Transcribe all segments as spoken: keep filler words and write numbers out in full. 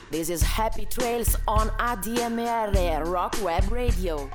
This is Happy Trails on A D M R Rock Web Radio.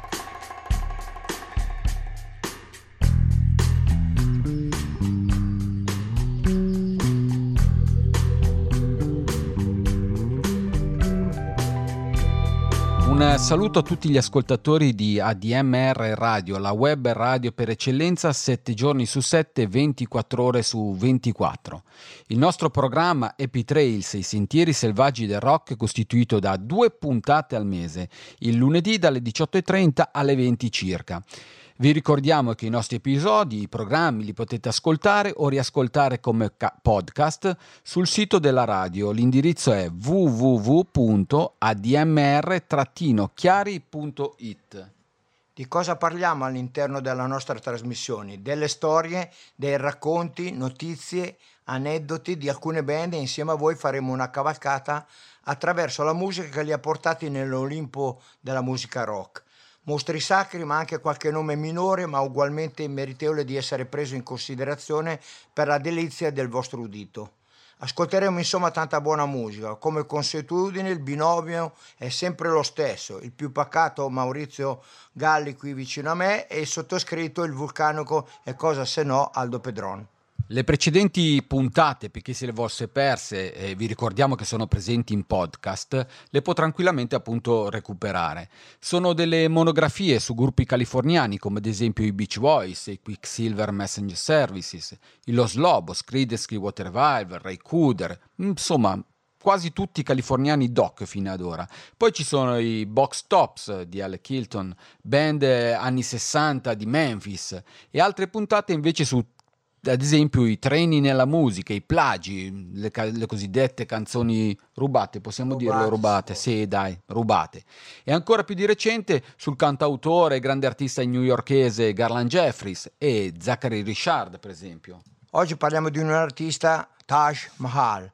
Un saluto a tutti gli ascoltatori di A D M R Radio, la web radio per eccellenza, sette giorni su sette, ventiquattro ore su ventiquattro. Il nostro programma Happy Trails, i sentieri selvaggi del rock, è costituito da due puntate al mese, il lunedì dalle diciotto e trenta alle venti circa. Vi ricordiamo che i nostri episodi, i programmi li potete ascoltare o riascoltare come ca- podcast sul sito della radio. L'indirizzo è w w w punto a d m r chiari punto i t. Di cosa parliamo all'interno della nostra trasmissione? Delle storie, dei racconti, notizie, aneddoti di alcune band e insieme a voi faremo una cavalcata attraverso la musica che li ha portati nell'Olimpo della musica rock. Mostri sacri, ma anche qualche nome minore, ma ugualmente meritevole di essere preso in considerazione per la delizia del vostro udito. Ascolteremo insomma tanta buona musica. Come consuetudine il binomio è sempre lo stesso, il più pacato Maurizio Galli qui vicino a me e il sottoscritto, il vulcanico e cosa se no Aldo Pedron. Le precedenti puntate, per chi se le fosse perse, eh, vi ricordiamo che sono presenti in podcast, le può tranquillamente appunto recuperare. Sono delle monografie su gruppi californiani come ad esempio i Beach Boys, i Quicksilver Messenger Services, i Los Lobos, Creedence Clearwater Revival, Ray Cooder, insomma quasi tutti californiani doc fino ad ora. Poi ci sono i Box Tops di Alec Hilton, band anni sessanta di Memphis, e altre puntate invece su ad esempio i treni nella musica, i plagi, le, le cosiddette canzoni rubate, possiamo rubate, dirlo rubate, sì. sì dai, rubate. E ancora più di recente sul cantautore e grande artista newyorkese Garland Jeffries e Zachary Richard per esempio. Oggi parliamo di un artista, Taj Mahal.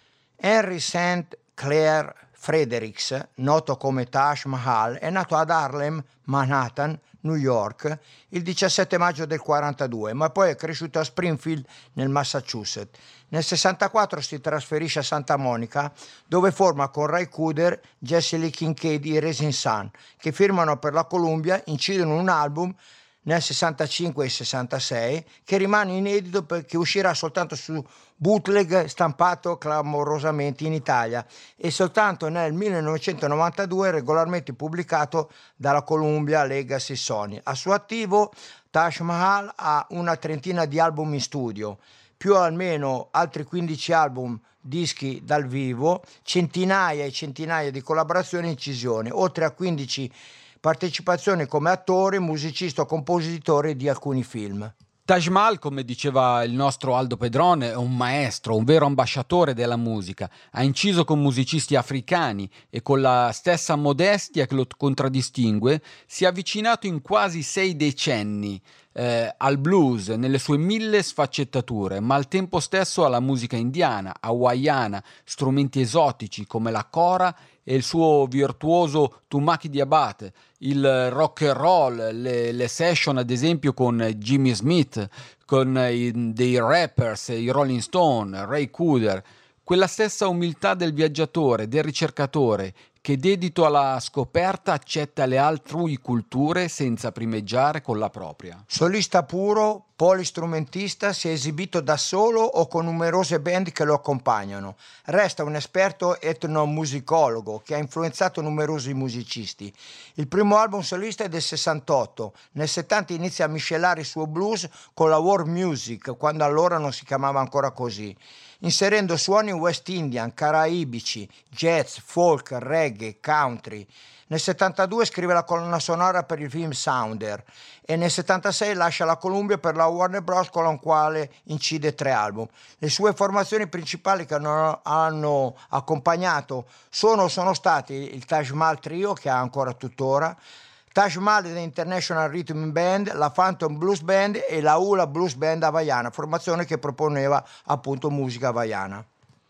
Henry Saint Clair Fredericks, noto come Taj Mahal, è nato ad Harlem, Manhattan, New York, il diciassette maggio del quarantadue, ma poi è cresciuto a Springfield, nel Massachusetts. Nel sessantaquattro si trasferisce a Santa Monica, dove forma con Ray Cooder, Jesse Lee Kincaid e Rising Sun, che firmano per la Columbia, incidono un album nel sessantacinque e sessantasei che rimane inedito perché uscirà soltanto su bootleg stampato clamorosamente in Italia e soltanto nel millenovecentonovantadue regolarmente pubblicato dalla Columbia Legacy Sony. A suo attivo Taj Mahal ha una trentina di album in studio, più almeno altri quindici album, dischi dal vivo, centinaia e centinaia di collaborazioni e incisioni, oltre a quindici partecipazioni come attore, musicista o compositore di alcuni film. Taj Mahal, come diceva il nostro Aldo Pedron, è un maestro, un vero ambasciatore della musica. Ha inciso con musicisti africani e con la stessa modestia che lo contraddistingue si è avvicinato in quasi sei decenni eh, al blues nelle sue mille sfaccettature, ma al tempo stesso alla musica indiana, hawaiana, strumenti esotici come la kora e il suo virtuoso Tumaki Diabate, il rock and roll, le, le session ad esempio con Jimmy Smith, con i, dei rappers, i Rolling Stone, Ray Cooder, quella stessa umiltà del viaggiatore, del ricercatore, che dedito alla scoperta accetta le altrui culture senza primeggiare con la propria. Solista puro, polistrumentista, si è esibito da solo o con numerose band che lo accompagnano. Resta un esperto etnomusicologo che ha influenzato numerosi musicisti. Il primo album solista è del sessantotto. Nel settanta inizia a miscelare il suo blues con la world music, quando allora non si chiamava ancora così, inserendo suoni west indian, caraibici, jazz, folk, reggae, country. Nel settantadue scrive la colonna sonora per il film Sounder e nel settantasei lascia la Columbia per la Warner Bros. Con la quale incide tre album. Le sue formazioni principali che hanno, hanno accompagnato sono, sono stati il Taj Mahal Trio, che ha ancora tuttora, Taj Mahal The International Rhythm Band, la Phantom Blues Band e la Hula Blues Band hawaiana, formazione che proponeva appunto musica hawaiana.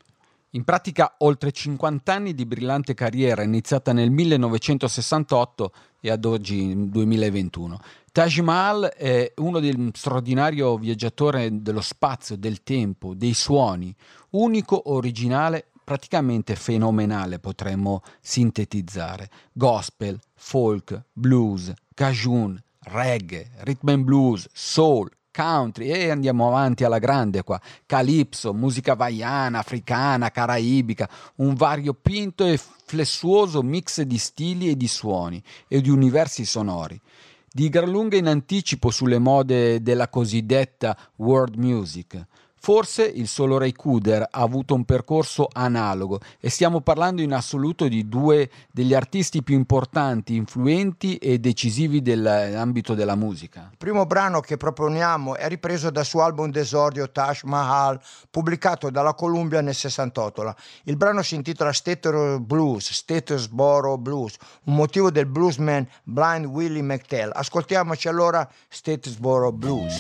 In pratica oltre cinquanta anni di brillante carriera iniziata nel millenovecentosessantotto e ad oggi duemilaventuno. Taj Mahal è uno del straordinario viaggiatore dello spazio, del tempo, dei suoni, unico, originale, praticamente fenomenale, potremmo sintetizzare. Gospel, folk, blues, cajun, reggae, rhythm and blues, soul, country e andiamo avanti alla grande qua, calypso, musica hawaiana, africana, caraibica, un variopinto e flessuoso mix di stili e di suoni e di universi sonori. Di gran lunga in anticipo sulle mode della cosiddetta world music. Forse il solo Ray Cooder ha avuto un percorso analogo e stiamo parlando in assoluto di due degli artisti più importanti, influenti e decisivi dell'ambito della musica. Il primo brano che proponiamo è ripreso dal suo album d'esordio Taj Mahal, pubblicato dalla Columbia nel sessantotto. Il brano si intitola Statesboro Blues, Statesboro Blues, un motivo del bluesman Blind Willie McTell. Ascoltiamoci allora Statesboro Blues.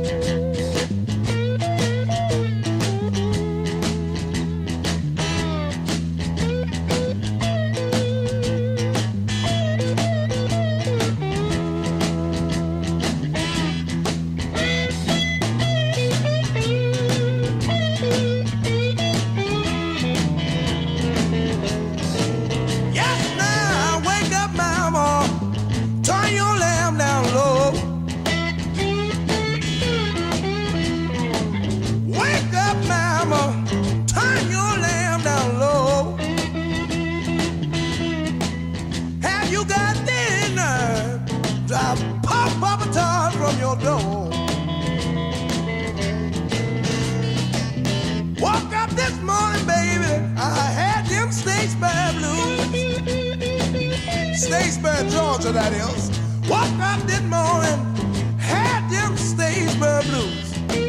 Statesboro, Georgia, that is. Woke up this morning, had them Statesboro blues.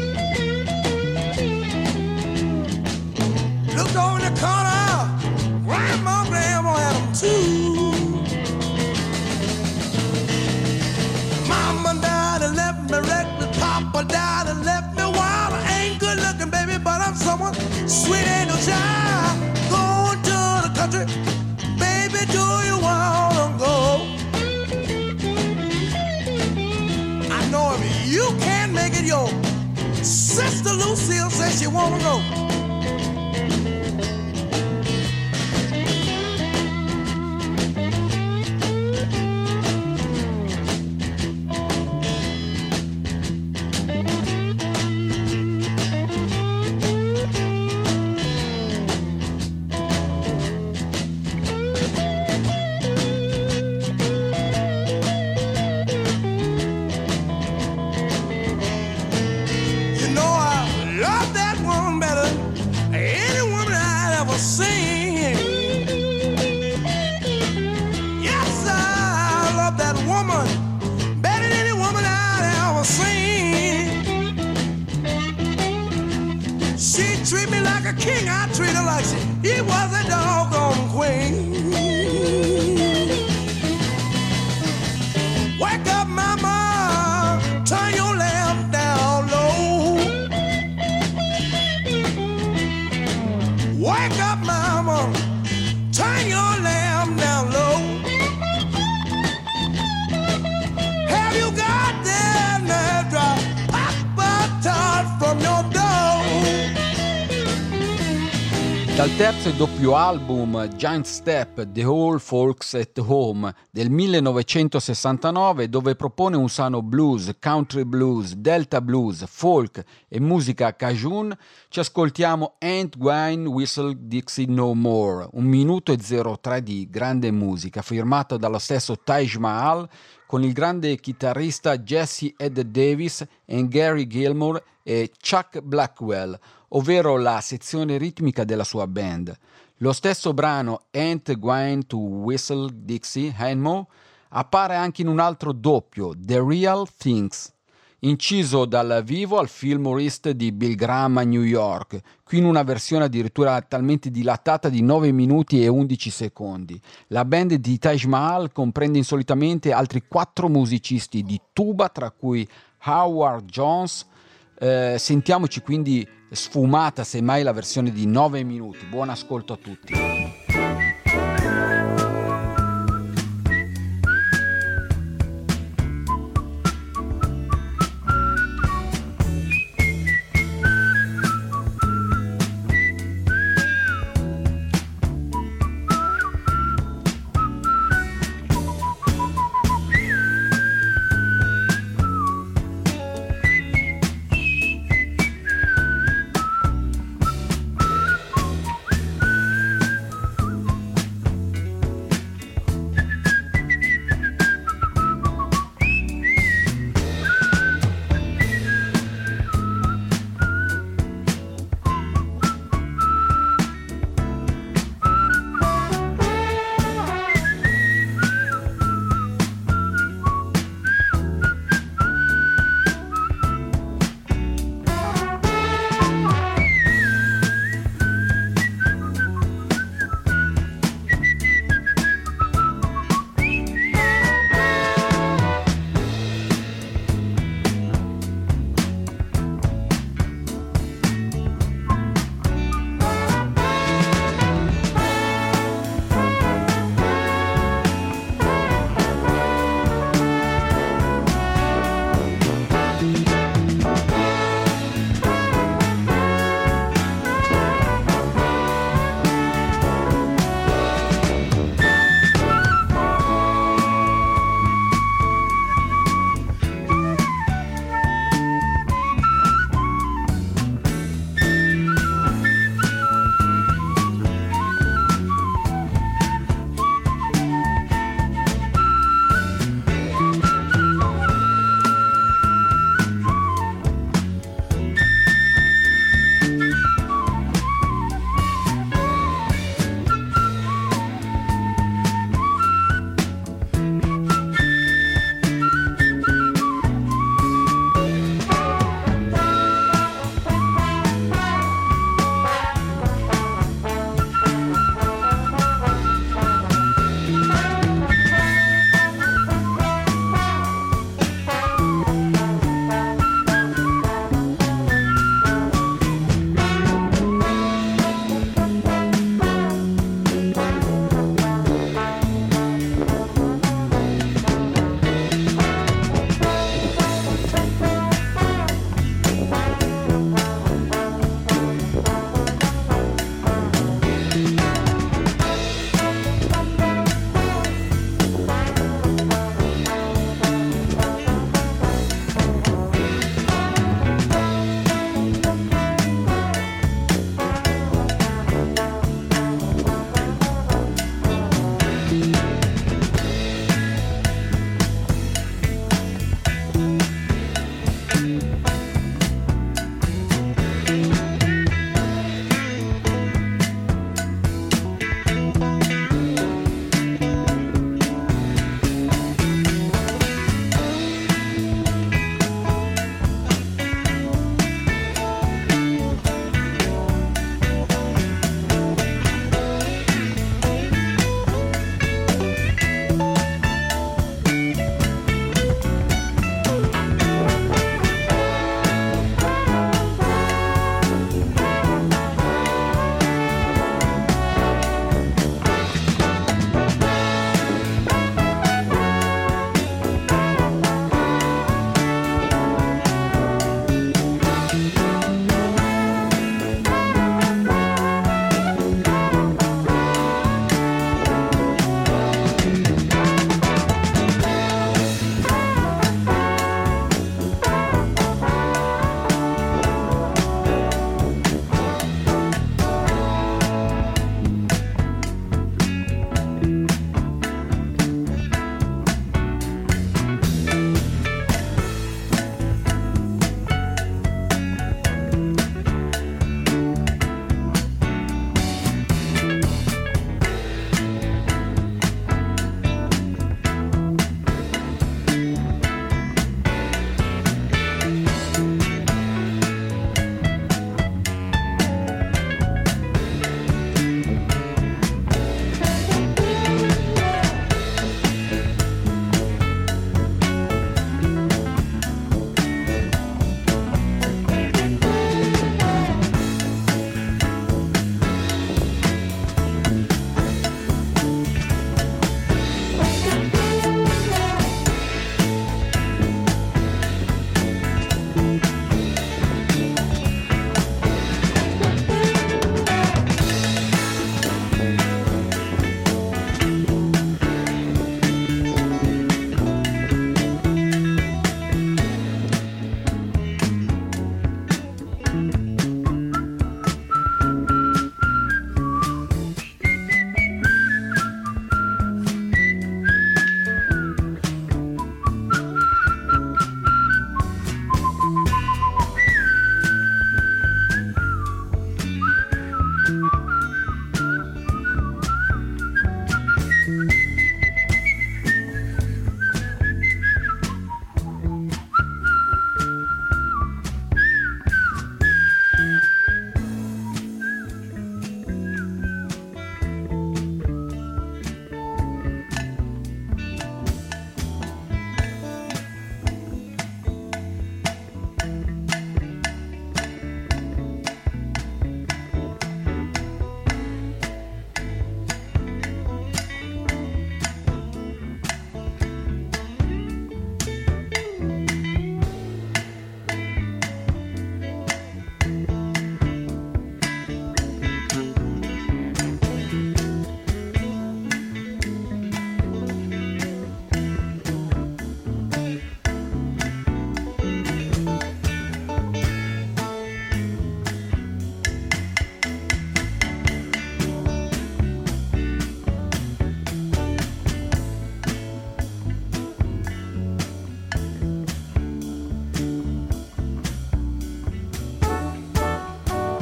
Looked over in the corner, grandma, grandma had them too. Mama died and left me reckless, Papa died and left me wild. I ain't good looking, baby, but I'm someone sweet angel child. Going to the country, baby, do you wanna go? I know if you can't make it, your sister Lucille says she wanna go. King, I treat her like she, he was a doggone queen. Wake up, mama, turn your lamp down low. Wake up, mama, turn your lamp down low. Have you got that nerve drop? Pop a tart from your door. Dal terzo e doppio album Giant Step, The Old Folks at Home del millenovecentosessantanove, dove propone un sano blues, country blues, delta blues, folk e musica cajun, ci ascoltiamo Ain't Gwine Whistle Dixie No More, un minuto e zero tre di grande musica, firmato dallo stesso Taj Mahal con il grande chitarrista Jesse Ed Davis e Gary Gilmore e Chuck Blackwell, ovvero la sezione ritmica della sua band. Lo stesso brano Ain't Gwine to Whistle Dixie No More appare anche in un altro doppio, The Real Things, inciso dal vivo al Fillmore East di Bill Graham a New York, qui in una versione addirittura talmente dilatata di nove minuti e undici secondi. La band di Taj Mahal comprende insolitamente altri quattro musicisti di tuba, tra cui Howard Jones. Eh, sentiamoci quindi sfumata semmai la versione di nove minuti. Buon ascolto a tutti.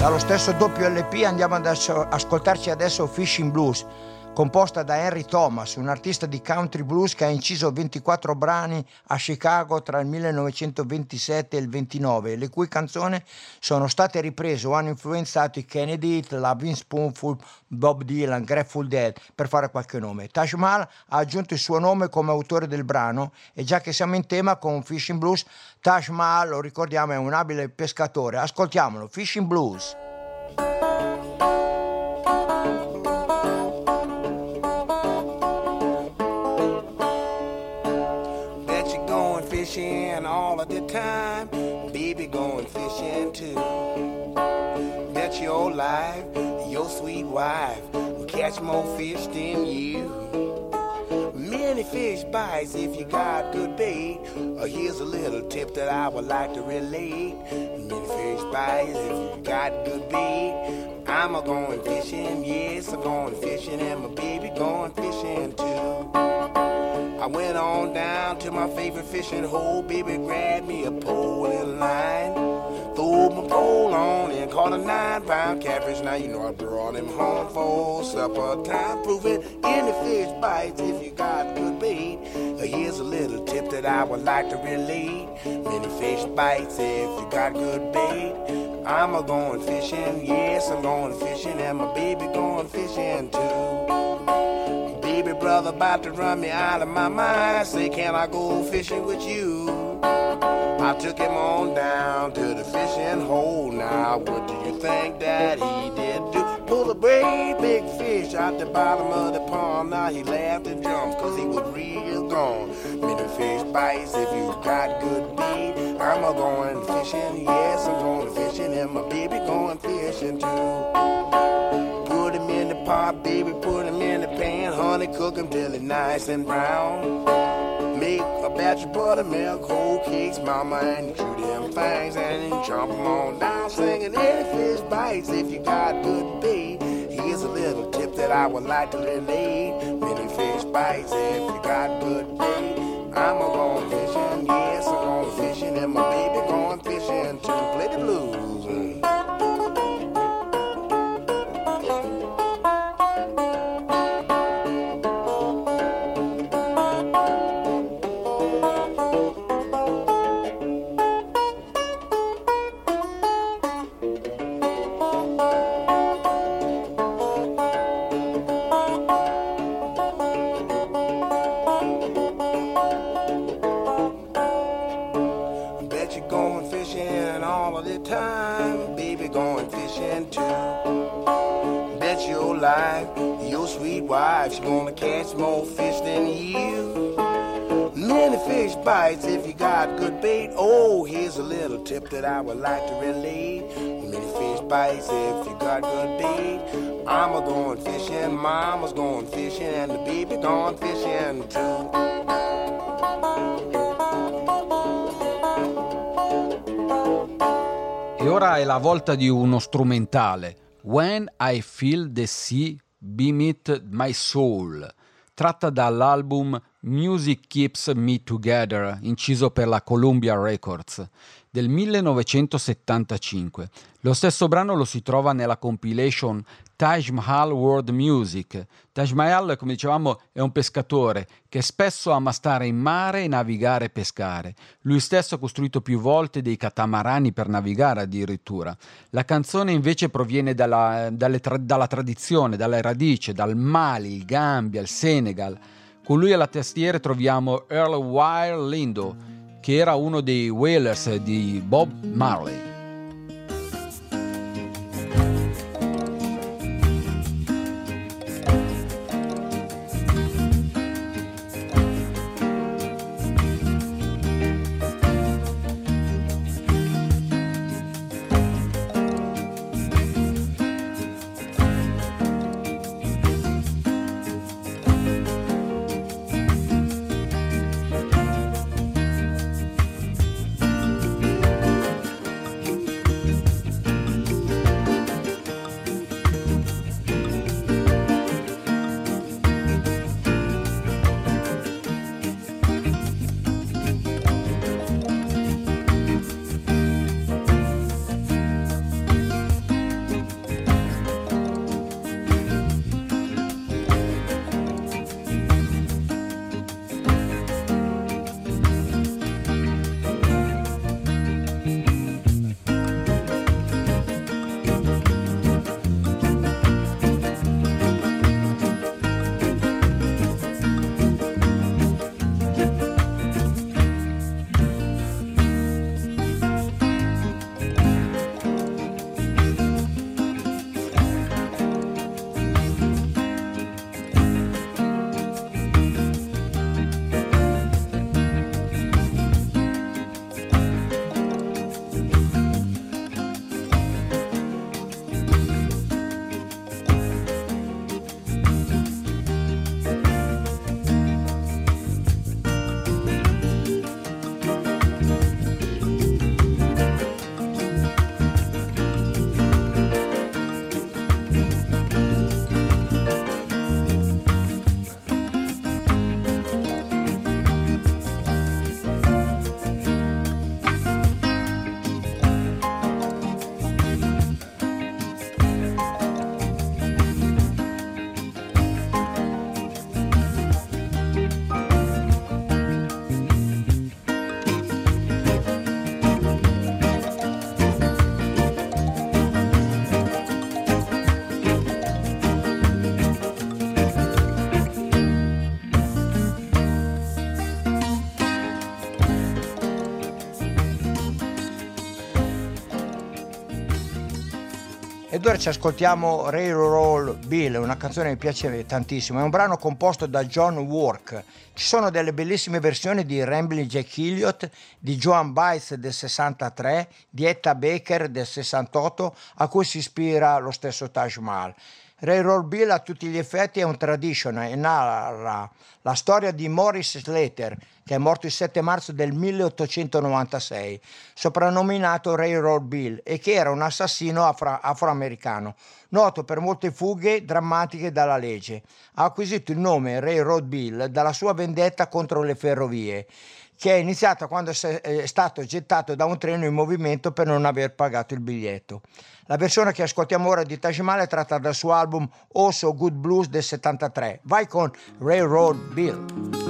Dallo stesso doppio L P andiamo ad ascoltarci adesso Fishing Blues, composta da Henry Thomas, un artista di country blues che ha inciso ventiquattro brani a Chicago tra il millenovecentoventisette e il ventinove, le cui canzoni sono state riprese o hanno influenzato i Kennedy, Lovin' Spoonful, Bob Dylan, Grateful Dead, per fare qualche nome. Taj Mahal ha aggiunto il suo nome come autore del brano, e già che siamo in tema con Fishing Blues, Taj Mahal, lo ricordiamo, è un abile pescatore. Ascoltiamolo, Fishing Blues. Fishing all of the time, baby going fishing too. Bet your life, your sweet wife will catch more fish than you. Many fish bites if you got good bait. Uh, here's a little tip that I would like to relate. Many fish bites if you got good bait. I'm a going fishing, yes, I'm going fishing, and my baby going fishing too. I went on down to my favorite fishing hole, baby grabbed me a pole and line. Threw my pole on and caught a nine pound catfish. Now you know I brought him home for supper time. Proving any fish bites if you got good bait. Here's a little tip that I would like to relate. Many fish bites if you got good bait. I'm a going fishing, yes I'm going fishing, and my baby going fishing too. Baby brother about to run me out of my mind. I say, can I go fishing with you? I took him on down to the fishing hole. Now what do you think that he did do? Pull a great big fish out the bottom of the pond. Now he laughed and jumped cause he was real gone. Many fish bites if you got good bait. I'm a going fishing, yes I'm going fishing, and my baby going fishing too. Put him in the pot, baby, put him in the pan. Honey, cook him till he's nice and brown. Make a batch of buttermilk, whole cakes, mama, and chew them things and then chomp them on down. Singing any fish bites if you got good bait. Here's a little tip that I would like to relate. Many fish bites if you got good bait. I'm a going fishing, yes, I'm going fishing, and my baby going fishing too. Play the blues. Your sweet wife, she's gonna catch more fish than you. Many fish bites if you got good bait. Oh, here's a little tip that I would like to relate. Many fish bites if you got good bait. I'm a going fishing, mama's going fishing, and the baby going fishing too. E ora è la volta di uno strumentale. When I Feel the Sea Beneath My Soul, tratta dall'album Music Keeps Me Together, inciso per la Columbia Records, del millenovecentosettantacinque. Lo stesso brano lo si trova nella compilation Taj Mahal World Music. Taj Mahal, come dicevamo, è un pescatore che spesso ama stare in mare e navigare e pescare. Lui stesso ha costruito più volte dei catamarani per navigare addirittura. La canzone invece proviene dalla, dalle tra, dalla tradizione, dalle radici, dal Mali, il Gambia, il Senegal. Con lui alla tastiera troviamo Earl Wild Lindo, che era uno dei Wailers di Bob Marley. ci ascoltiamo Railroad Bill, una canzone che mi piace tantissimo. È un brano composto da John Work. Ci sono delle bellissime versioni di Ramblin' Jack Elliott, di Joan Baez del sessantatré, di Etta Baker del sessantotto, a cui si ispira lo stesso Taj Mahal. Railroad Bill a tutti gli effetti è un tradition e narra la storia di Morris Slater, che è morto il sette marzo del milleottocentonovantasei, soprannominato Railroad Bill, e che era un assassino afro- afroamericano, noto per molte fughe drammatiche dalla legge. Ha acquisito il nome Railroad Bill dalla sua vendetta contro le ferrovie, che è iniziata quando è stato gettato da un treno in movimento per non aver pagato il biglietto. La versione che ascoltiamo ora di Taj Mahal è tratta dal suo album Oh So Good Blues del settantatré. Vai con Railroad Bill.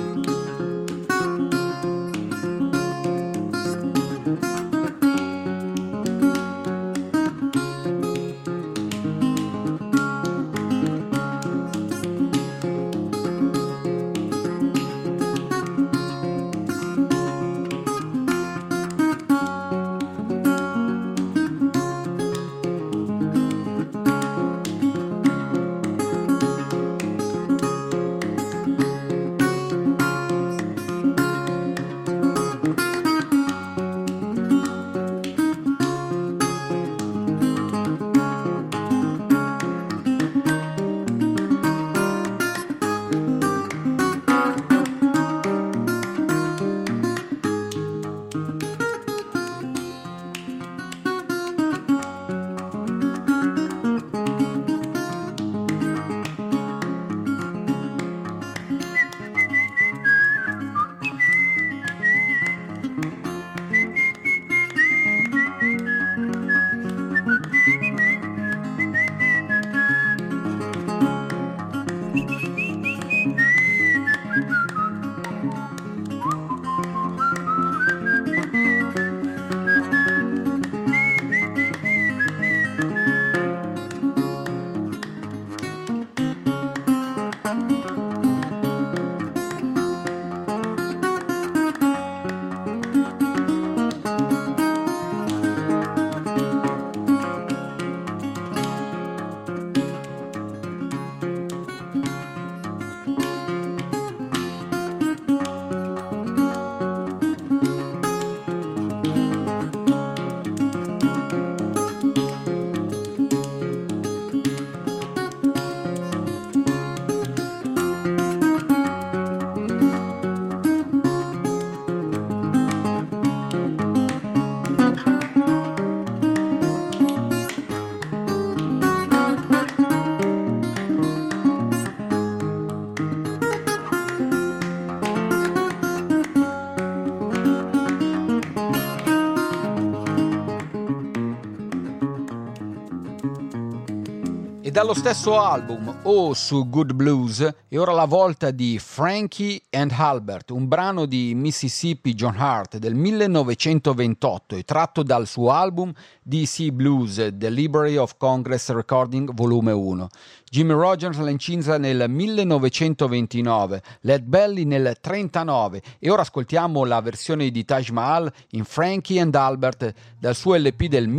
Dallo stesso album Oh So Good Blues è ora la volta di Frankie and Albert, un brano di Mississippi John Hart del millenovecentoventotto e tratto dal suo album D C Blues, The Library of Congress Recording volume uno. Jimmy Rogers l'ha incisa nel millenovecentoventinove, Led Belly nel trentanove e ora ascoltiamo la versione di Taj Mahal in Frankie and Albert dal suo L P del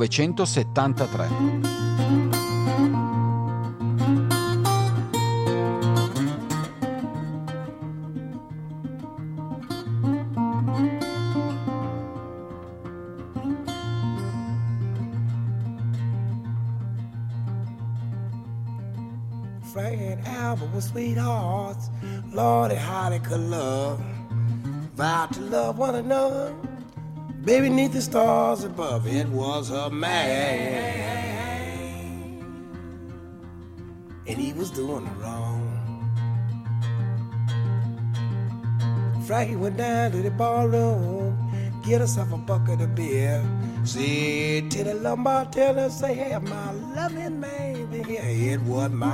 millenovecentosettantatré. Frank and Albert were sweethearts. Lordy, how they could love. Vowed to love one another. Baby, neath the stars above, it was her man. And he was doing it wrong. Frankie went down to the ballroom, get herself a bucket of beer. Said to the lumbar teller, say, hey, my loving man, here, it was my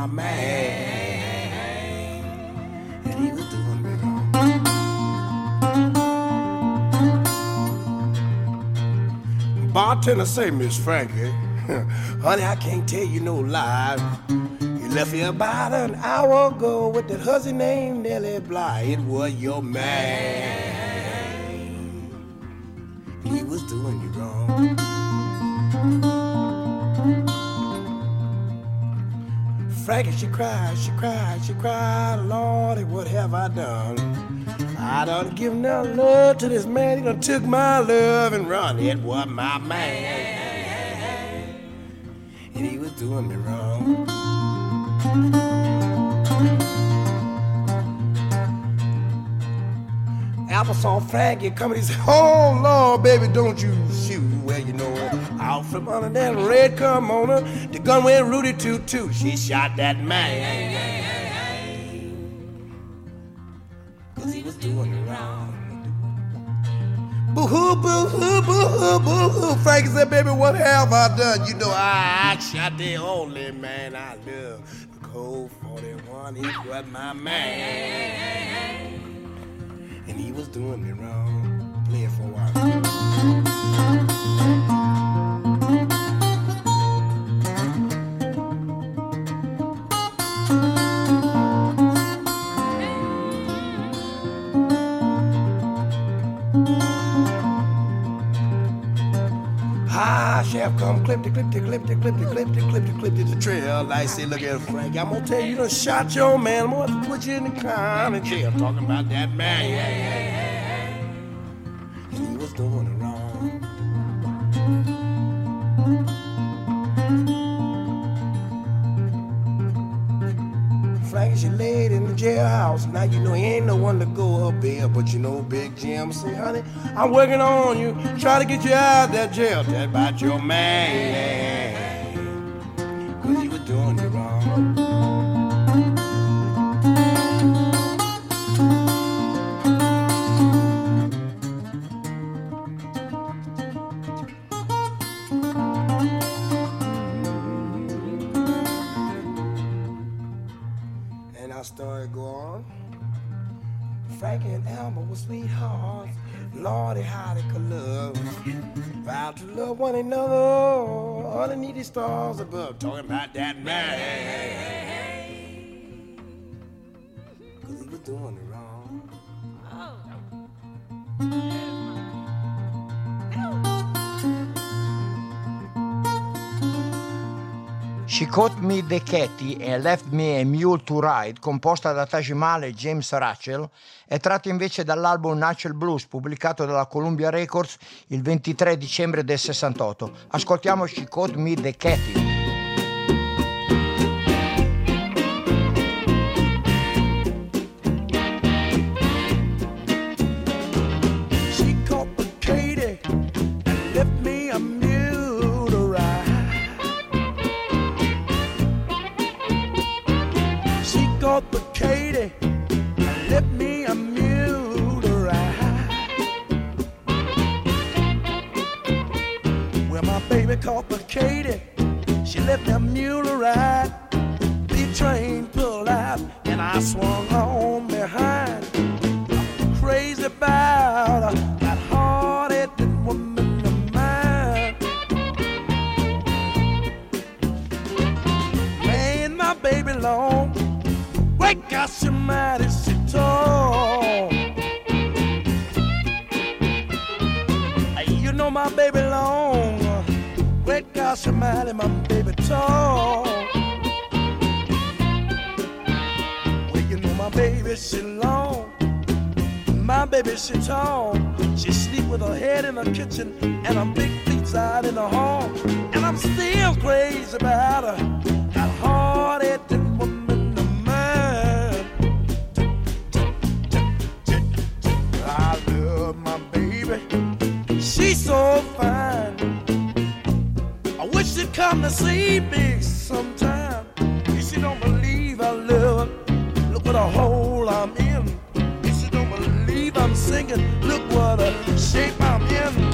man. And he was doing me wrong. Bartender say, Miss Frankie, honey, I can't tell you no lie. You left here about an hour ago with that hussy named Nellie Bly. It was your man. He was doing you wrong. Frankie, she cried, she cried, she cried, Lordy, what have I done? I done given that love to this man, he done took my love and run. It was my man, and he was doing me wrong. Apple saw Frankie coming, he said, oh Lord, baby, don't you shoot. Well, you know, out from under that red kimono, the gun went Rudy toot toot. She shot that man, cause he was doing it wrong. Boo-hoo, boo-hoo, boo-hoo, boo-hoo. Frankie said, baby, what have I done? You know, I, I shot the only man I love. The Colt forty-one, he was my man, and he was doing me wrong. Play it for a while. Ah, chef, come clip the clip the clip the clip the clip the clip the clip the trail. I say, look at Frank, I'm gonna tell you, you done shot your man. I'm gonna put you in the county jail. Talking about that man, yeah, yeah, yeah. And he was doing it wrong. Frankie, she laid in the jailhouse. Now you know he ain't no one to go up there, but you know Big Jim say, honey, I'm working on you, try to get you out of that jail. Tell about your man, cause you were doing it wrong. I started going. Frankie and Elmer were sweethearts. Lordy, how they could love. Vowed to love one another underneath the stars above. Talking about that man, cause he was doing it wrong. She Caught Me the Catty e Left Me a Mule to Ride, composta da Taj Mahal e James Rachel, è tratto invece dall'album Natural Blues, pubblicato dalla Columbia Records il ventitré dicembre del sessantotto. Ascoltiamo She Caught Me the Catty. But Katie left me a mule to ride. Well, my baby called for Katie, she left me a mule to ride. The train pulled out and I swung on behind. I'm crazy about that hard-headed woman of mine. Man, my baby long. Wake up, somebody sit tall. You know my baby long. Wake up, somebody, my baby tall. Well, you know my baby she long. My baby she tall. She sleep with her head in the kitchen and her big feet out in the hall. And I'm still crazy about her. That hard-headed woman. She's so fine. I wish she'd come to see me sometime. If she don't believe I love her, look what a hole I'm in. If she don't believe I'm singing, look what a shape I'm in.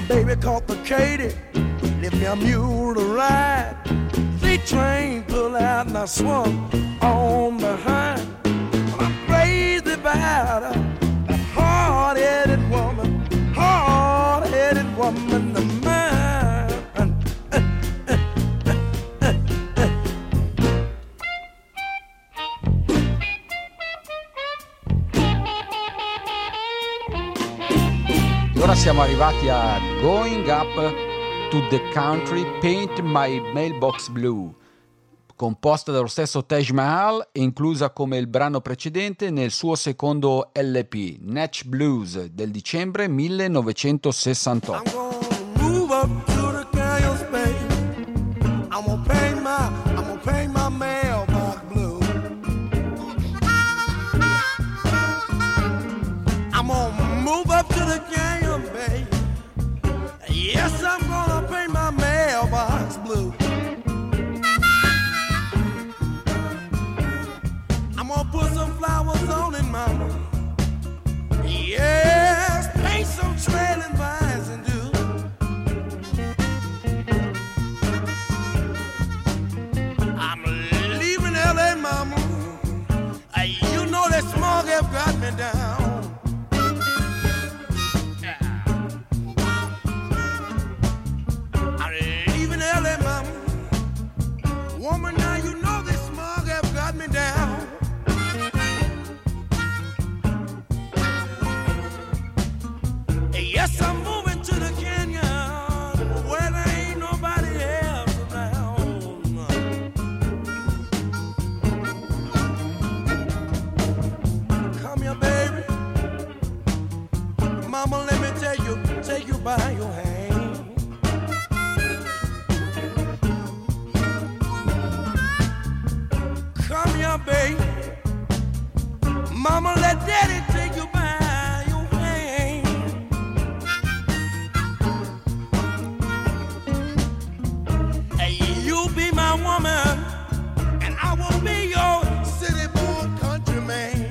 baby complicated. Lift me a mule to ride. The train pull out and I swung on behind. Well, I'm crazy about her, that hard-headed woman, hard-headed woman of mine. Ora siamo arrivati a Going Up to the Country, Paint My Mailbox Blue, composta dallo stesso Taj Mahal e inclusa come il brano precedente nel suo secondo L P, Natch Blues, del dicembre millenovecentosessantotto. Yes, I'm gonna paint my mailbox blue. I'm gonna put some flowers on it, mama. Yes, paint some trailing vines and do. I'm leaving L A, mama. Uh, you know that smog have got me down. Woman, now you know this smog have got me down. Yes, I'm moving to the canyon where there ain't nobody else around. Come here, baby. Mama, let me tell you, take you by your hand. Baby, mama, let daddy take you by your hand. Hey, you be my woman, and I will be your city-born country man.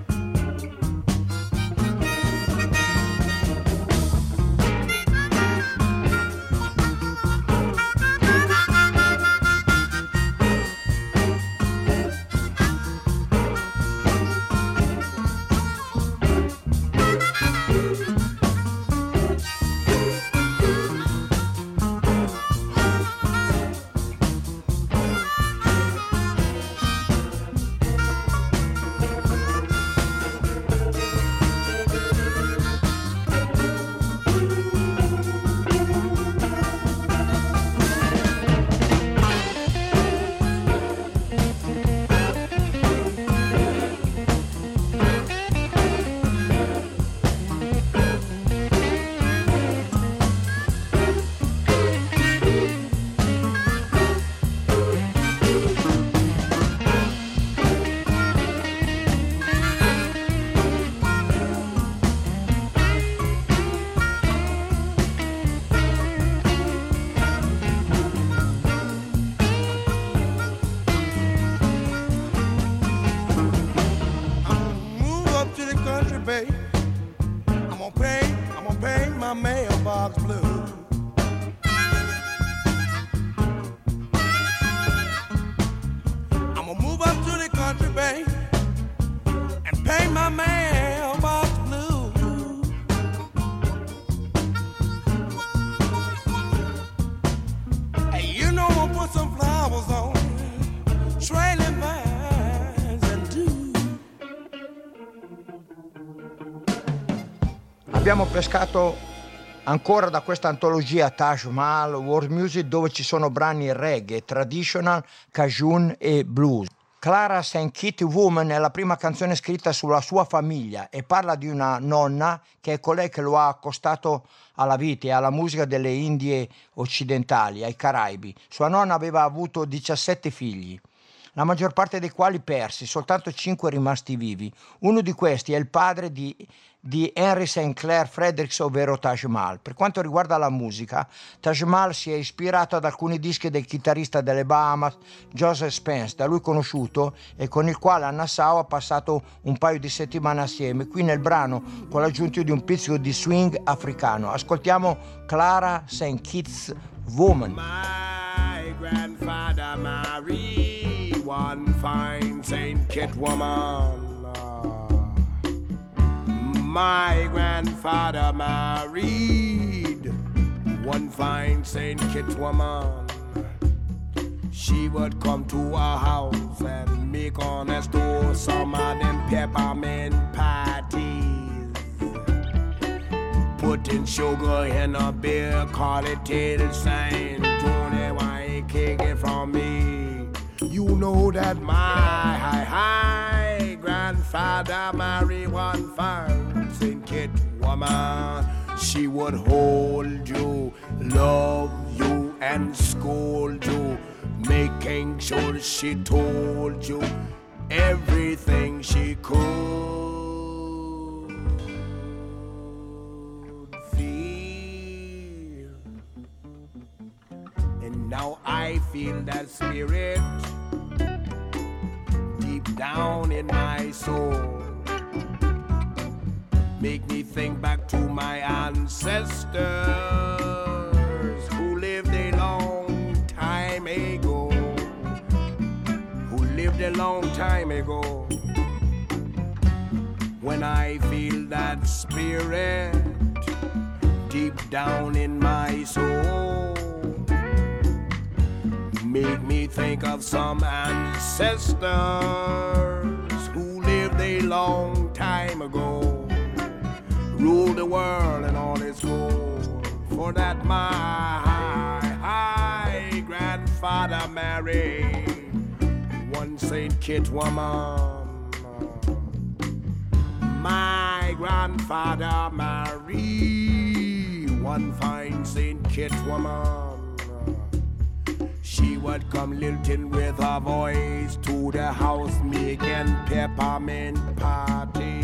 Abbiamo pescato ancora da questa antologia Taj Mahal World Music, dove ci sono brani reggae, traditional, cajun e blues. Clara Saint Kitty Woman è la prima canzone scritta sulla sua famiglia e parla di una nonna che è colei che lo ha accostato alla vita e alla musica delle Indie occidentali, ai Caraibi. Sua nonna aveva avuto diciassette figli, la maggior parte dei quali persi, soltanto cinque rimasti vivi. Uno di questi è il padre di di Henry Saint Clair Fredericks, ovvero Taj Mahal. Per quanto riguarda la musica, Taj Mahal si è ispirato ad alcuni dischi del chitarrista delle Bahamas Joseph Spence, da lui conosciuto e con il quale a Nassau ha passato un paio di settimane assieme, qui nel brano con l'aggiunta di un pizzico di swing africano. Ascoltiamo Clara Saint Kitts Woman. My grandfather married one fine Saint Kitts woman. My grandfather married one fine Saint Kitts woman. She would come to our house and make on us do some of them peppermint patties. Putting sugar in a beer, call it till Saint Johnny, why ain't take it from me? You know that my high, high grandfather married one fine Saint Kitts woman. She would hold you, love you, and scold you, making sure she told you everything she could feel. And now I feel that spirit deep down in my soul. Make me think back to my ancestors who lived a long time ago, who lived a long time ago. When I feel that spirit deep down in my soul, make me think of some ancestors who lived a long time ago, rule the world and all its gold. For that my high, high grandfather married one Saint Kitts woman. My grandfather married one fine Saint Kitts woman. She would come lilting with her voice to the house, making peppermint parties.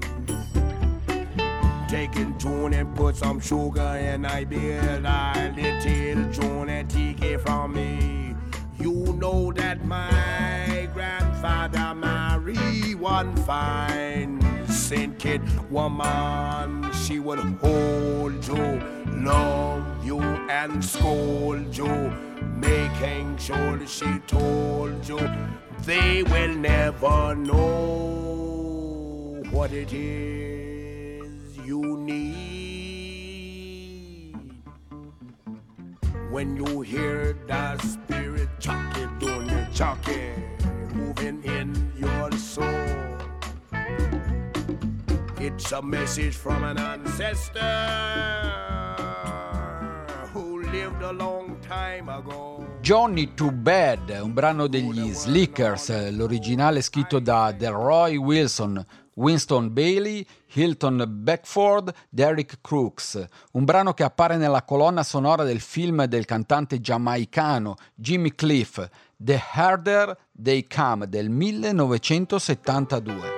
Taking June and put some sugar in I beer, I little June and take it from me. You know that my grandfather married one fine Saint Kitts woman. She would hold you, love you, and scold you, making sure she told you they will never know what it is you need. When you hear the spirit chucking, doing the chucking, moving in your soul, it's a message from an ancestor who lived a long time ago. Johnny Too Bad, un brano degli Slickers, l'originale scritto da Delroy Wilson, Winston Bailey, Hilton Beckford, Derek Crooks, un brano che appare nella colonna sonora del film del cantante giamaicano Jimmy Cliff, The Harder They Come del millenovecentosettantadue.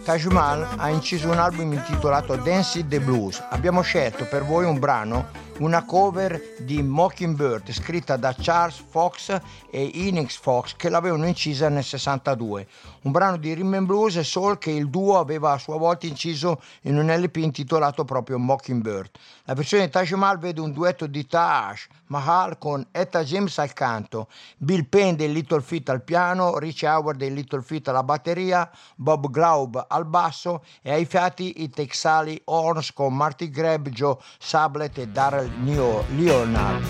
Taj Mahal ha inciso un album intitolato Dance the Blues. Abbiamo scelto per voi un brano, una cover di Mockingbird scritta da Charles Fox e Inez Fox, che l'avevano incisa nel sessantadue. Un brano di rhythm and blues e soul che il duo aveva a sua volta inciso in un L P intitolato proprio Mockingbird. La versione di Taj Mahal vede un duetto di Taj Mahal con Etta James al canto, Bill Penn dei Little Feat al piano, Rich Howard dei Little Feat alla batteria, Bob Glaub al basso e ai fiati i Texali Horns con Marty Greb, Joe Sublett e Darrell Leonard.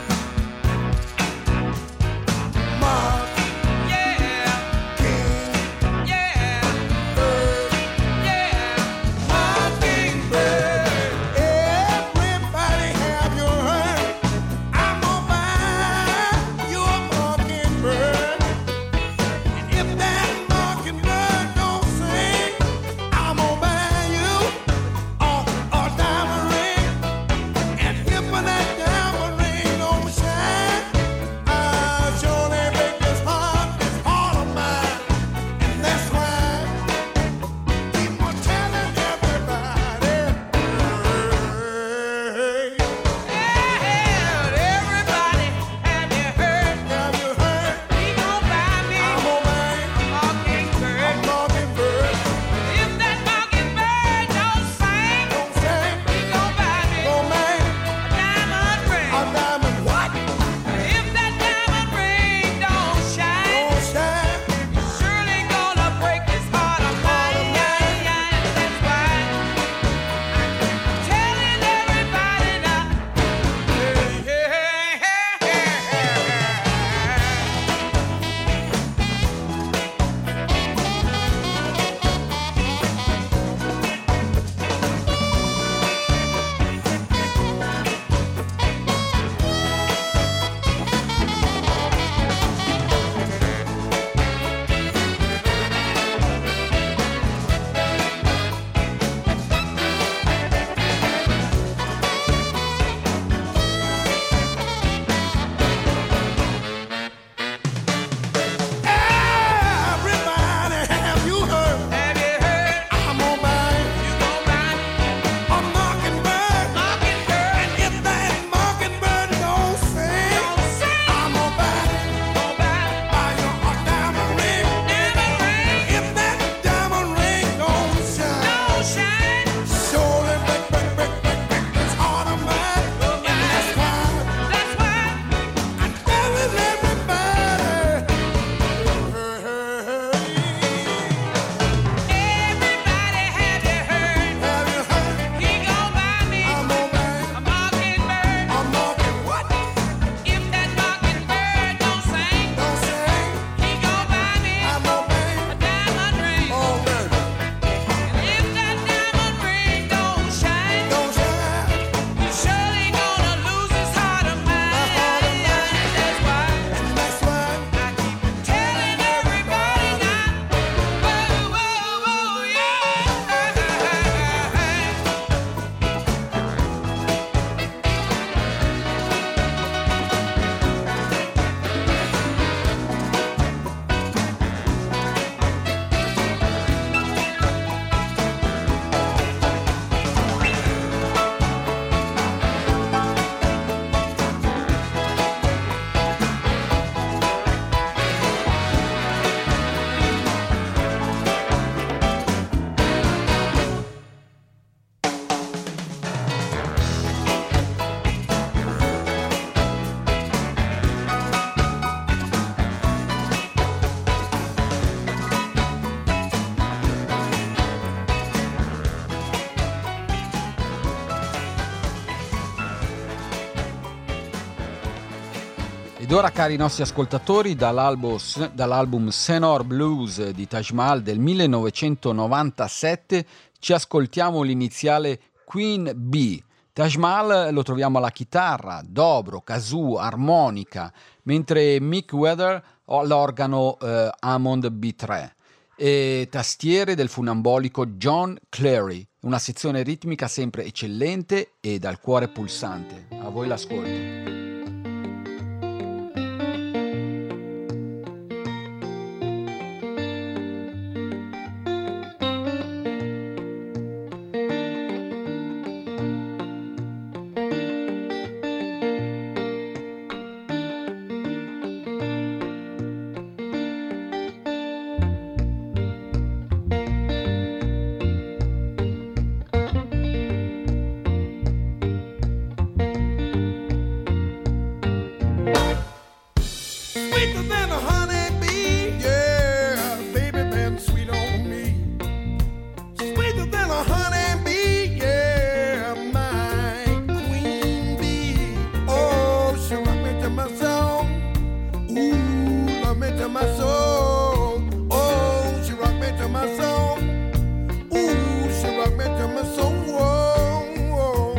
Ed ora, cari nostri ascoltatori, dall'album, dall'album Senor Blues di Taj Mahal del millenovecentonovantasette ci ascoltiamo l'iniziale Queen Bee. Taj Mahal lo troviamo alla chitarra, dobro, kazoo, armonica, mentre Mick Weather all'organo eh, Hammond B tre e tastiere del funambolico John Clary. Una sezione ritmica sempre eccellente e dal cuore pulsante. A voi l'ascolto. my soul. Oh, she rock me to my soul. Ooh, she rock me to my soul. Whoa,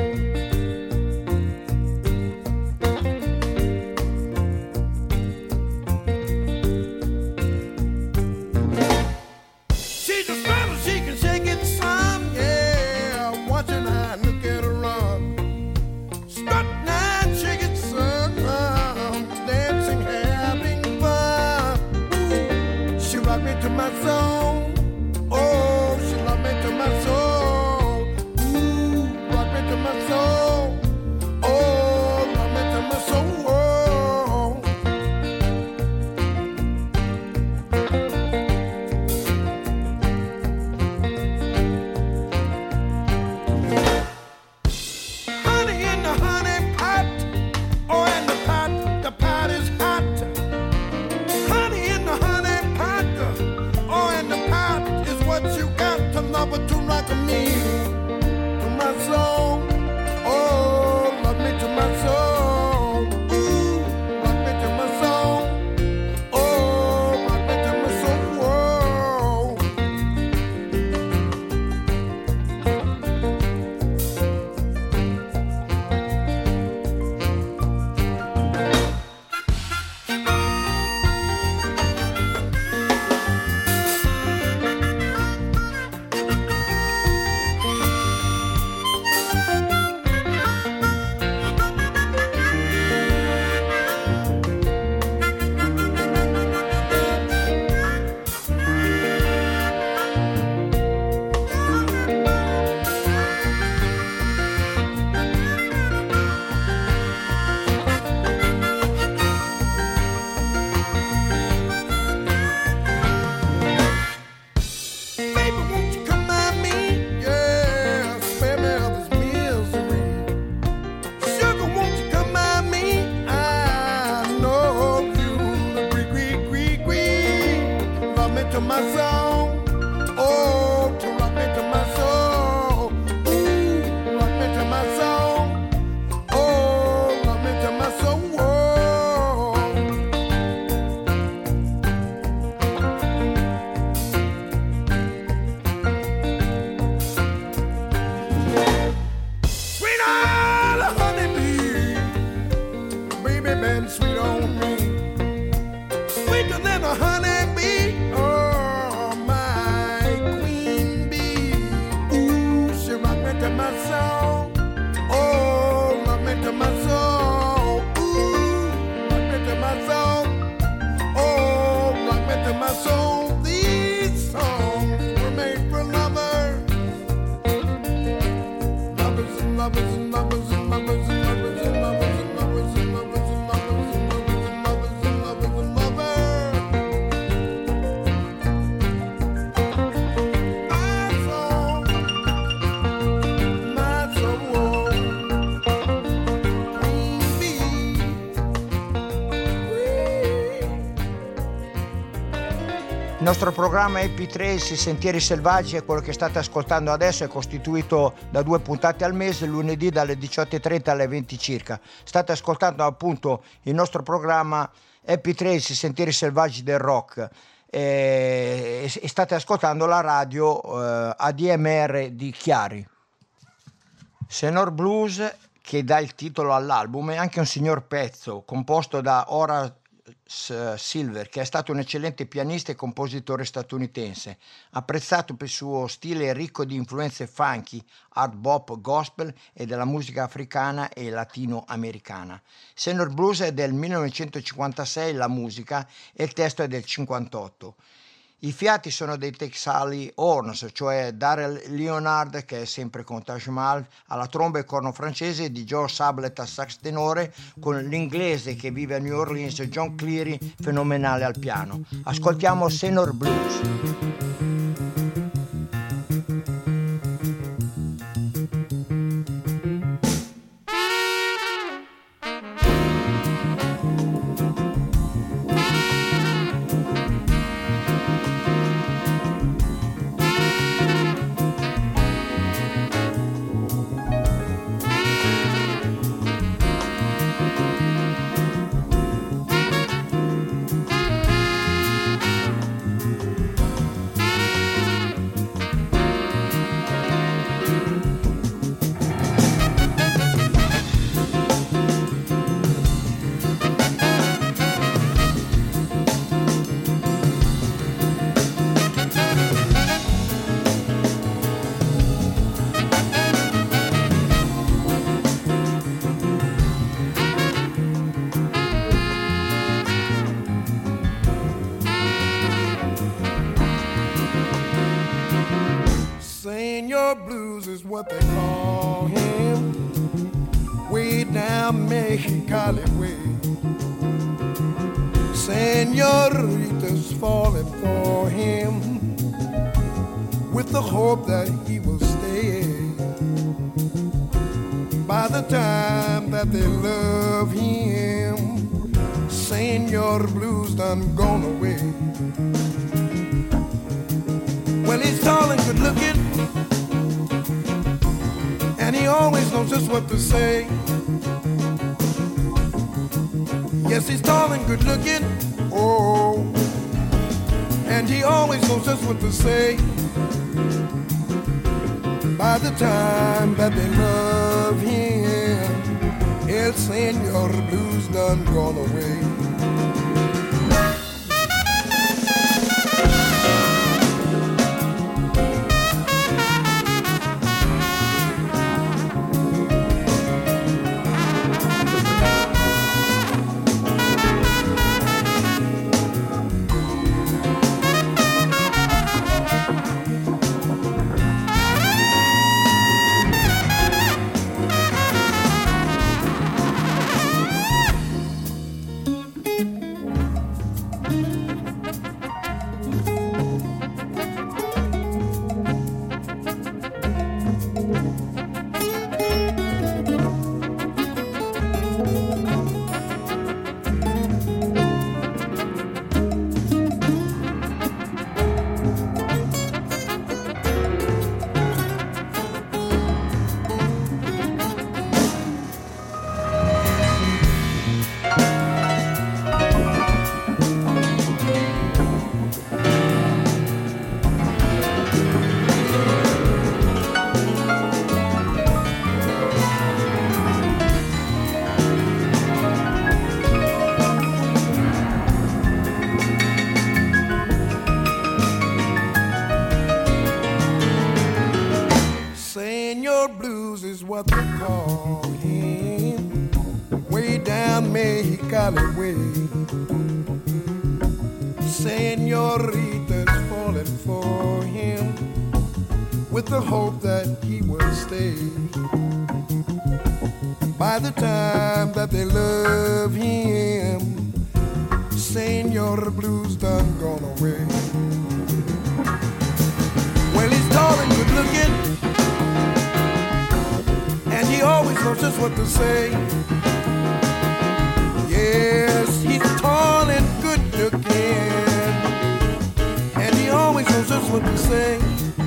she's a straddle, she can shake it some, yeah. Watching her, look at her run. Strut and shake it some, dancing, having fun. Ooh, she rock me to my soul. Oh, she rock me to my soul. Ooh, rock me to my soul. Oh, rock me to my soul. Honey in the honey pot, oh, and the pot, the pot is hot. Honey in the honey pot, oh, and the pot is what you got to love her to rock me to my soul. Oh, rock me to my soul. Ooh, rock me to my soul. Oh, rock me to my soul. Whoa. Baby, won't you come at me? Yeah, spare me of this misery. Sugar, won't you come at me? I know you agree, agree, agree, agree. Love me to my soul. Oh, to rock me to my soul. Ooh, rock me to my soul. Oh, rock me to my soul. Whoa. Sweet on the honeybee, baby been sweet on me, sweeter than a honeybee. Oh, my queen bee. Ooh, she rock me to my soul. Oh, rock me to my soul. Ooh, rock me to my soul. Oh, rock me to my soul. These songs were made for lovers. Lovers and lovers and lovers and lovers and lovers and lovers and lovers and lovers and lovers and lovers and lovers and lovers and lovers. My soul, my soul, queen bee, Il nostro programma Happy Trails, i Sentieri Selvaggi, è quello che state ascoltando adesso, è costituito da due puntate al mese, lunedì dalle diciotto e trenta alle venti circa. State ascoltando appunto il nostro programma Happy Trails, i Sentieri Selvaggi del Rock, e, e state ascoltando la radio eh, A D M R di Chiari. Senor Blues, che dà il titolo all'album, è anche un signor pezzo composto da Horace Silver, che è stato un eccellente pianista e compositore statunitense, apprezzato per il suo stile ricco di influenze funky, hard bop, gospel e della musica africana e latinoamericana. Senor Blues è del millenovecentocinquantasei la musica e il testo è del cinquantotto. I fiati sono dei Texali Horns, cioè Darrell Leonard, che è sempre con Taj Mahal alla tromba e corno francese, di Joe Sablet al sax tenore, con l'inglese che vive a New Orleans, John Cleary, fenomenale al piano. Ascoltiamo Senor Blues. Senor Blues is what they call him. Way down Mexicali way. Senorita's falling for him with the hope that he will stay. By the time that they love him, Senor Blues done gone away. Well, he's tall and good looking, and he always knows just what to say. Yes, he's tall and good looking, oh, and he always knows just what to say. By the time that they love him, El Senor Blues done gone away. What they call him, way down Mexicali way. Senorita's falling for him with the hope that he will stay. By the time that they love him, Senor Blues done gone away. Well, he's tall and good looking, and he always knows just what to say. Yes, he's tall and good looking, and he always knows just what to say.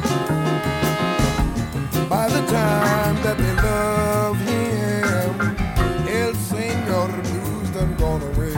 By the time that they love him, El Senor Blues done gone away.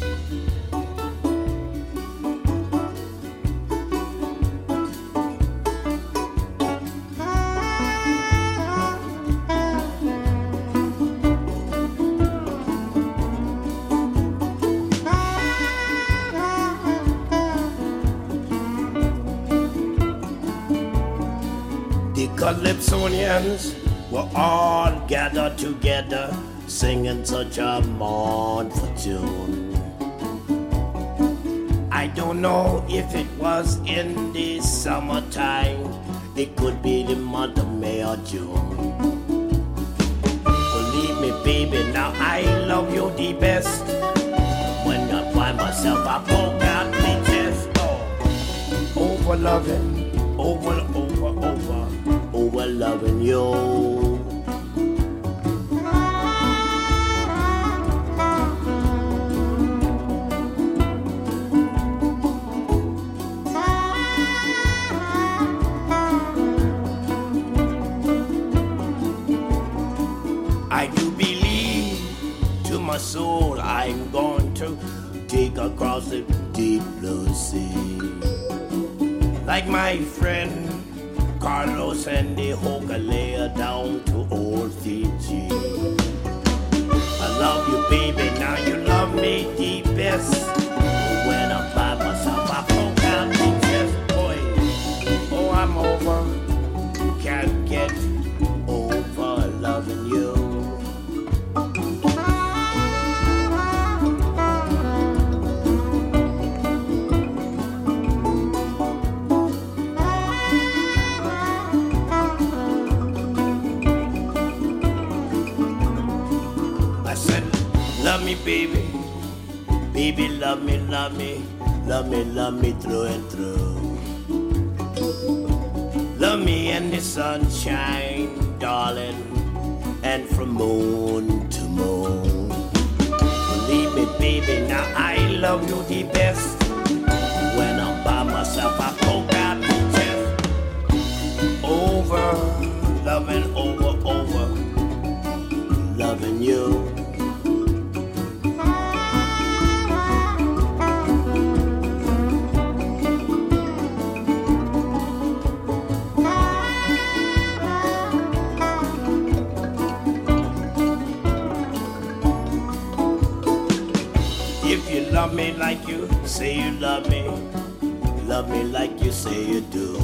Calypsonians were all gathered together, singing such a mournful tune. I don't know if it was in the summertime, it could be the month of May or June. Believe me, baby, now I love you the best. When I find myself, I poke out my chest. Oh, over loving, over, over, over. Over loving you. I do believe to my soul I'm going to take across the deep blue sea. Like my friend Carlos and the Hokalea down to old Fiji. I love you, baby, now you love me the best. When I'm by myself, I poke out the chest, boy. Oh, I'm over, can't get over loving you. Love me, baby, baby, love me, love me, love me, love me through and through. Love me in the sunshine, darling, and from moon to moon. Believe me, baby, now I love you the best. When I'm by myself, I poke out the chest. Over, loving, over, over, loving you. Love me like you say you love me. Love me like you say you do.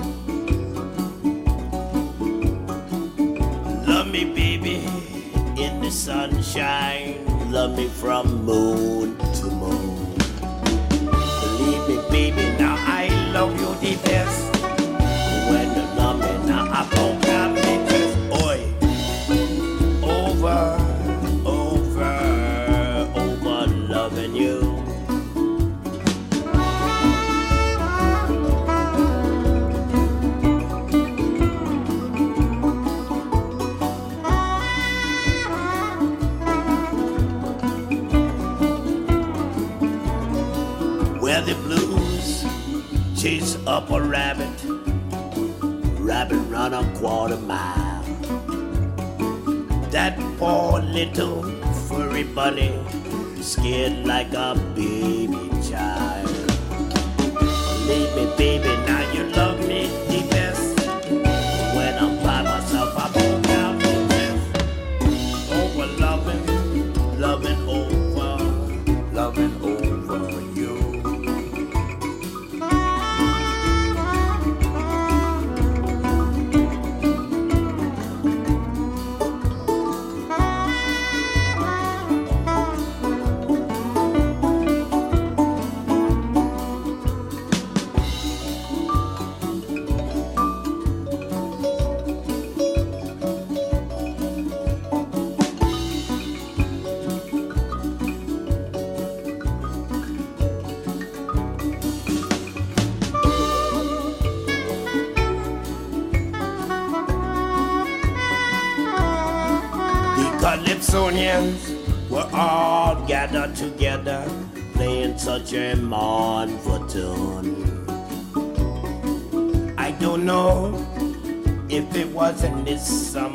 Love me, baby, in the sunshine. Love me from moon to moon. Believe me, baby, now I love you the best. When you love me, now I poke out my chest. Oi, over, over, over loving you. Where the blues chase up a rabbit, rabbit run a quarter mile. That poor little furry bunny, scared like a baby child. Believe me, baby, now you love me the best. When I'm by myself, I poke out the chest. Over loving, loving over, loving over you. Calypsonians were all gathered together, playing such a mournful tune. I don't know if it was in this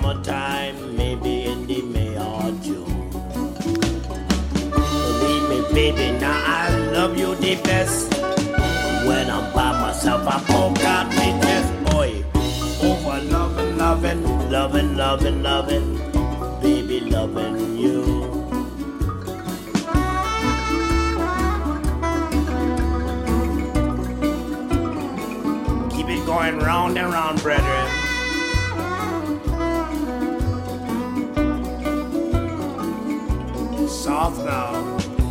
summertime, maybe in the May or June. Believe me, baby, now I love you the best. When I'm by myself, I poke out my chest, boy. Over loving, loving, loving, loving, loving, baby, loving you. Keep it going round and round, brethren. Soft now.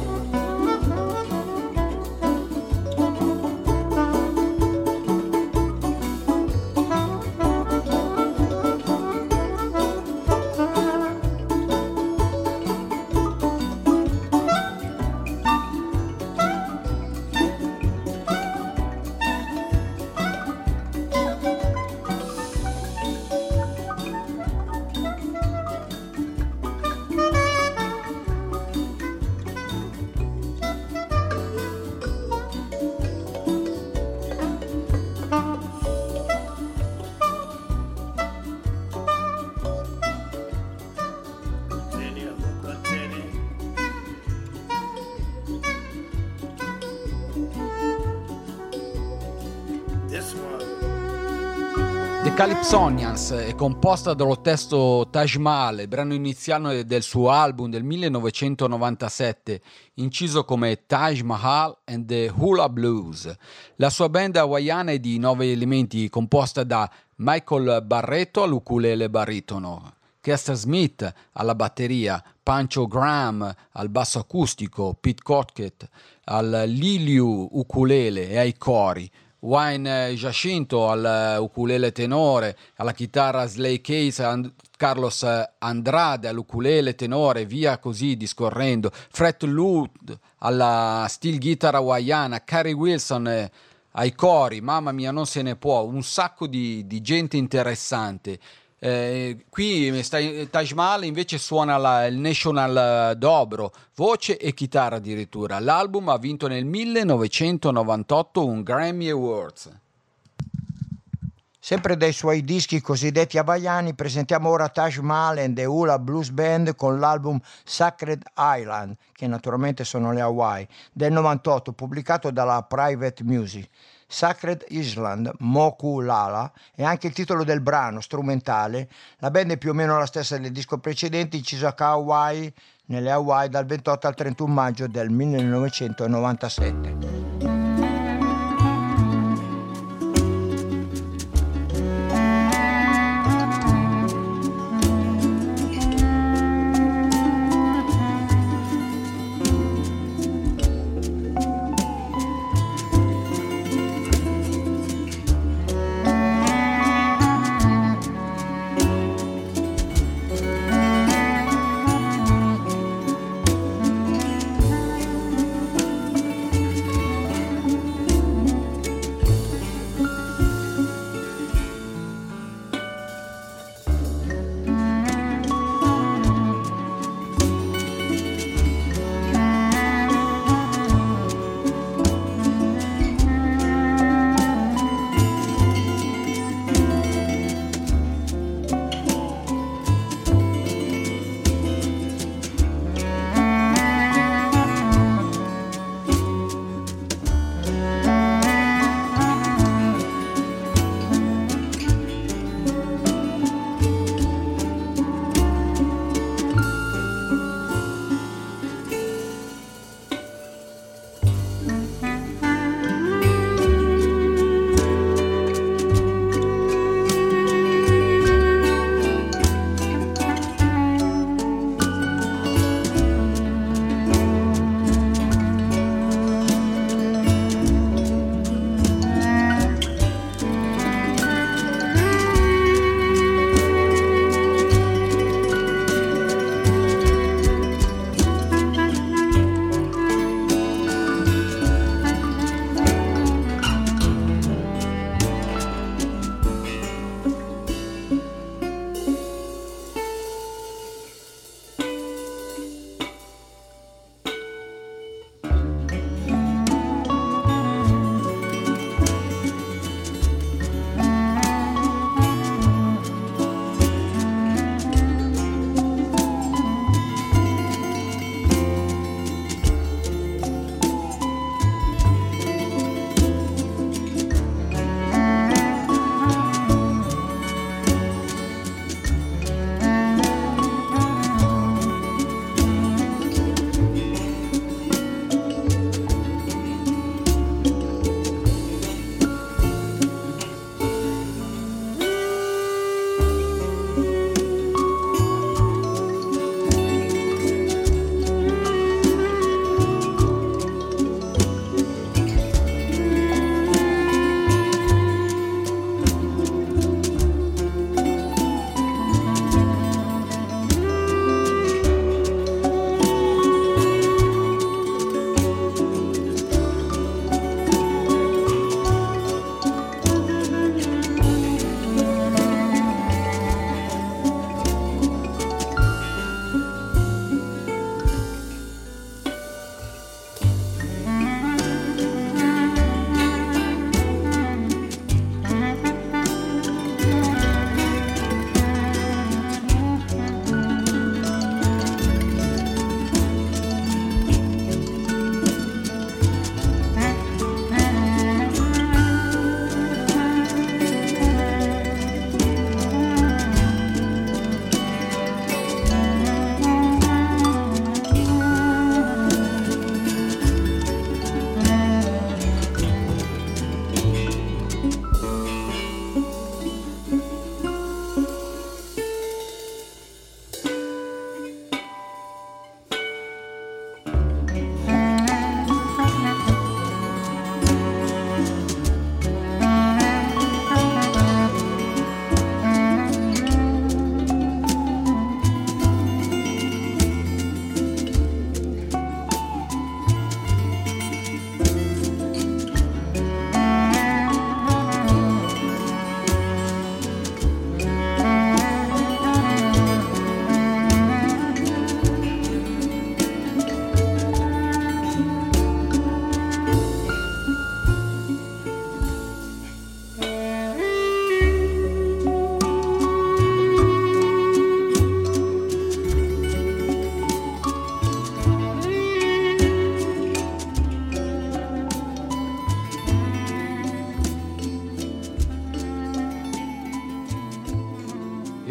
The Calypsonians è composta dallo testo Taj Mahal, brano iniziale del suo album del millenovecentonovantasette, inciso come Taj Mahal and the Hula Blues. La sua band hawaiana è di nove elementi, composta da Michael Barretto all'ukulele baritono, Kester Smith alla batteria, Pancho Graham al basso acustico, Pete Crockett al liliu ukulele e ai cori, Wayne Giacinto al ukulele tenore, alla chitarra Slay Case, And- Carlos Andrade all'ukulele tenore, via così discorrendo, Fred Lute alla steel guitar hawaiana, Carrie Wilson eh, ai cori, mamma mia non se ne può, un sacco di, di gente interessante. Eh, qui sta, Taj Mahal invece suona la, il National Dobro, voce e chitarra addirittura. L'album ha vinto nel millenovecentonovantotto un Grammy Awards. Sempre dai suoi dischi cosiddetti hawaiani presentiamo ora Taj Mahal and the Hula Blues Band con l'album Sacred Island, che naturalmente sono le Hawaii, del novantotto, pubblicato dalla Private Music. Sacred Island, Moku Lala, è anche il titolo del brano strumentale. La band è più o meno la stessa del disco precedente, inciso a Hawaii, nelle Hawaii dal ventotto al trentuno maggio del millenovecentonovantasette.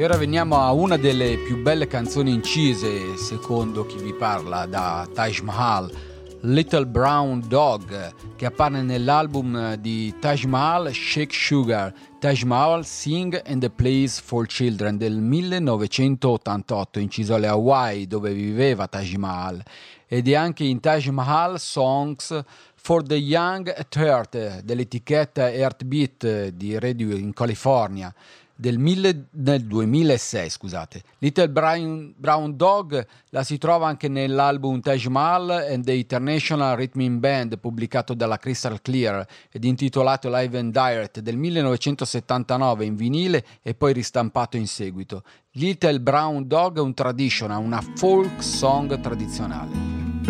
E ora veniamo a una delle più belle canzoni incise, secondo chi vi parla, da Taj Mahal, Little Brown Dog, che appare nell'album di Taj Mahal, Shake Sugar, Taj Mahal Sing and the Plays for Children del millenovecentottantotto, inciso alle Hawaii, dove viveva Taj Mahal, ed è anche in Taj Mahal Songs for the Young at Heart dell'etichetta Heartbeat di Radio in California del, mille, del duemilasei, scusate. Little Brown, Brown Dog la si trova anche nell'album Taj Mahal and the International Rhythm Band, pubblicato dalla Crystal Clear ed intitolato Live and Direct del millenovecentosettantanove in vinile e poi ristampato in seguito. Little Brown Dog è un traditional, una folk song tradizionale.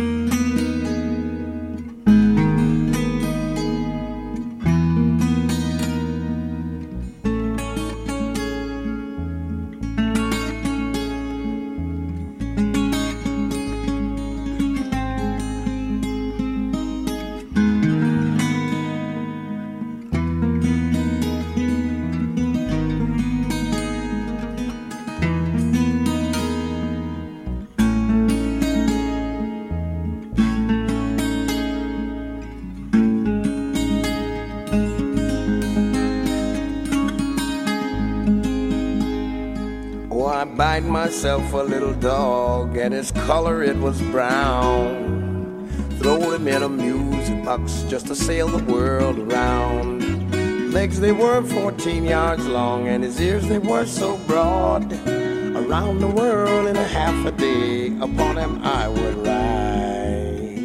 Bite myself a little dog, and his color it was brown. Throwed him in a music box just to sail the world around. Legs they were fourteen yards long, and his ears they were so broad. Around the world in a half a day, upon him I would ride.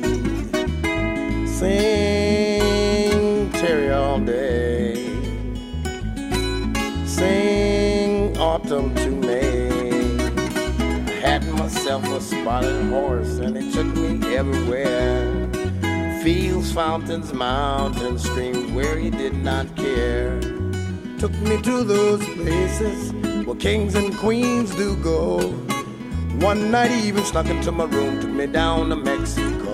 Sing Terry all day, sing autumn to May. Had myself a spotted horse, and it took me everywhere. Fields, fountains, mountains, streams where he did not care. Took me to those places where kings and queens do go. One night he even snuck into my room, took me down to Mexico.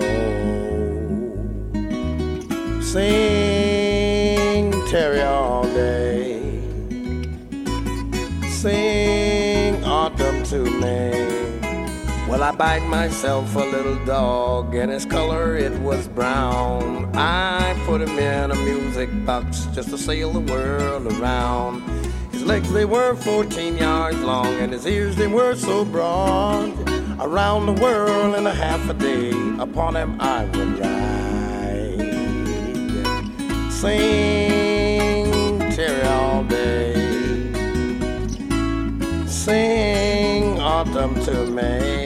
Sing Terry all day, sing autumn to May. Well, I bite myself a little dog, and his color it was brown. I put him in a music box just to sail the world around. His legs they were fourteen yards long, and his ears they were so broad. Around the world in a half a day, upon him I would ride. Sing Terry all day, sing autumn to May.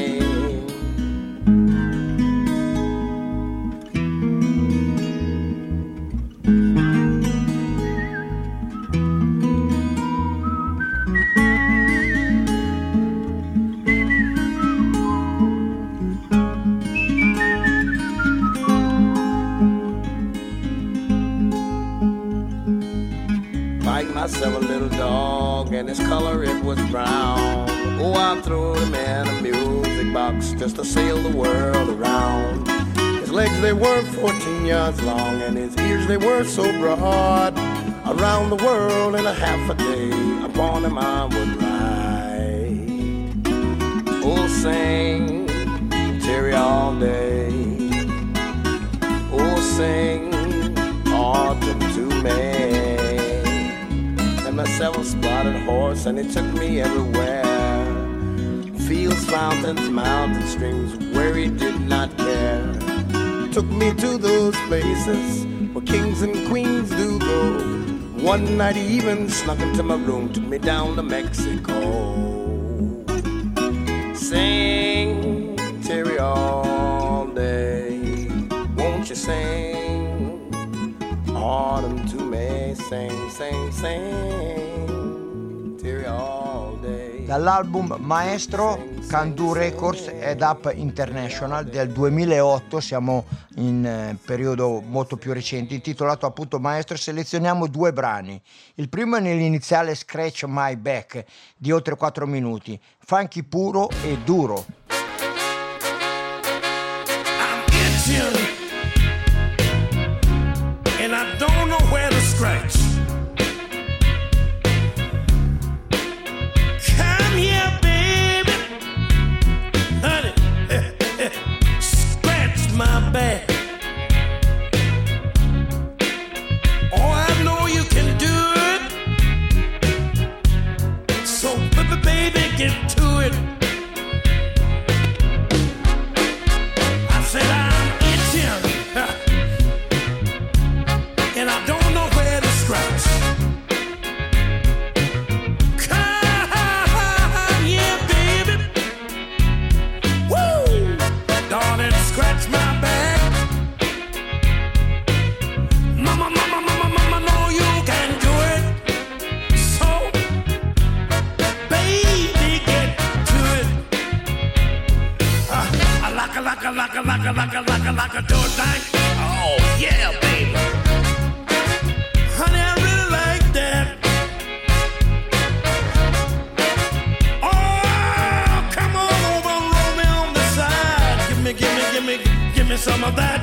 Myself a little dog, and his color it was brown. Oh, I threw him in a music box just to sail the world around. His legs they were fourteen yards long, and his ears they were so broad. Around the world in a half a day, upon him I would ride. Oh, sing Terry all day, oh, sing autumn to May. Myself a spotted horse, and it took me everywhere. Fields, fountains, mountains, streams where he did not care. Took me to those places where kings and queens do go. One night he even snuck into my room, took me down to Mexico. Sing Terry all day, won't you sing autumn to May, sing, sing, sing Terry all day. Dall'album Maestro, Can Do Records ed Up International del duemilaotto, siamo in eh, periodo molto più recente, intitolato appunto Maestro, selezioniamo due brani. Il primo è nell'iniziale Scratch My Back di oltre quattro minuti, funky puro e duro. I'm itching and I don't know where to scratch. Can that.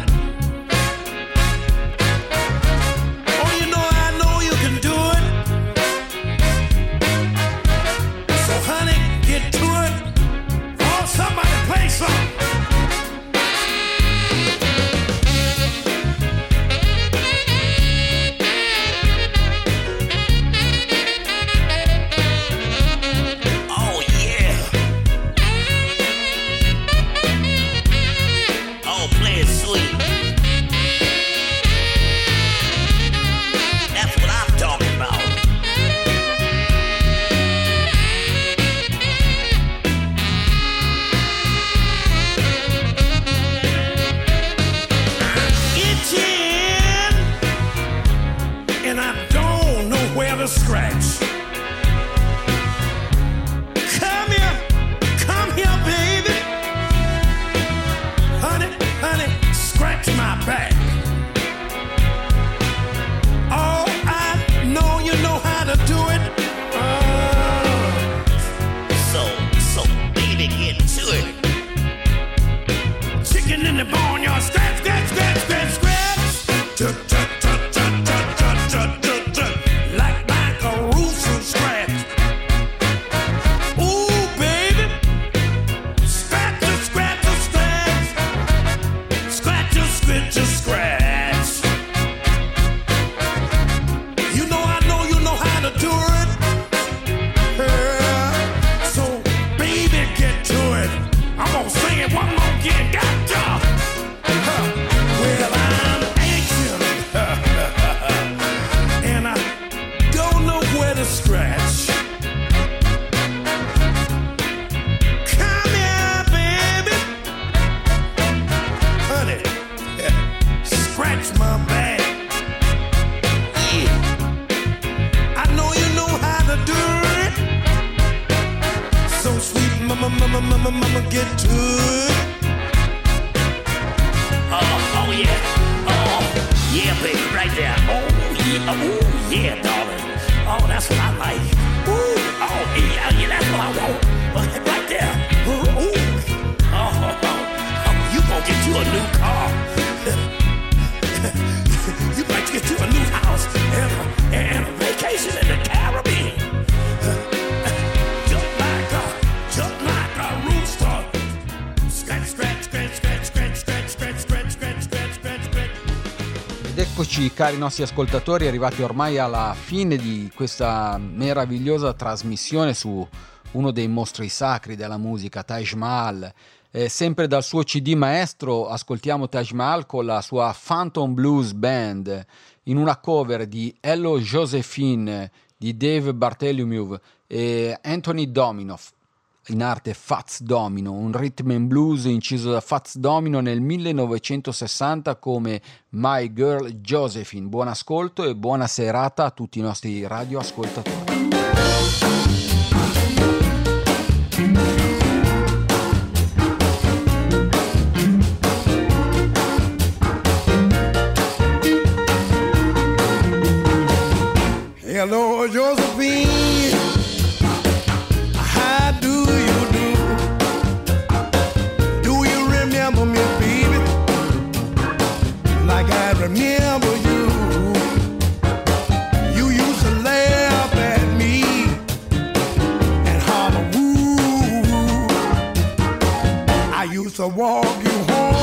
Oh, you know, I know you can do it. So, honey, get to it. Oh, somebody play something. Scratch. Come here, come here, baby. Honey, honey, scratch my back. Oh, I know you know how to do it. Oh. So, so, baby, get to it. Chicken in the barnyard, scratch, scratch, scratch, scratch, scratch. Tut, tut, tut, tut, tut, tut, tut, tut, tut. Eccoci cari nostri ascoltatori, arrivati ormai alla fine di questa meravigliosa trasmissione su uno dei mostri sacri della musica, Taj Mahal. Eh, sempre dal suo C D maestro ascoltiamo Taj Mahal con la sua Phantom Blues Band in una cover di Hello Josephine di Dave Bartholomew e Anthony Domino, in arte Fats Domino, un rhythm and blues inciso da Fats Domino nel millenovecentosessanta come My Girl Josephine. Buon ascolto e buona serata a tutti i nostri radioascoltatori. Hello Josephine, how do you do? Do you remember me, baby? Like I remember you. You used to laugh at me and holler woo. I used to walk you home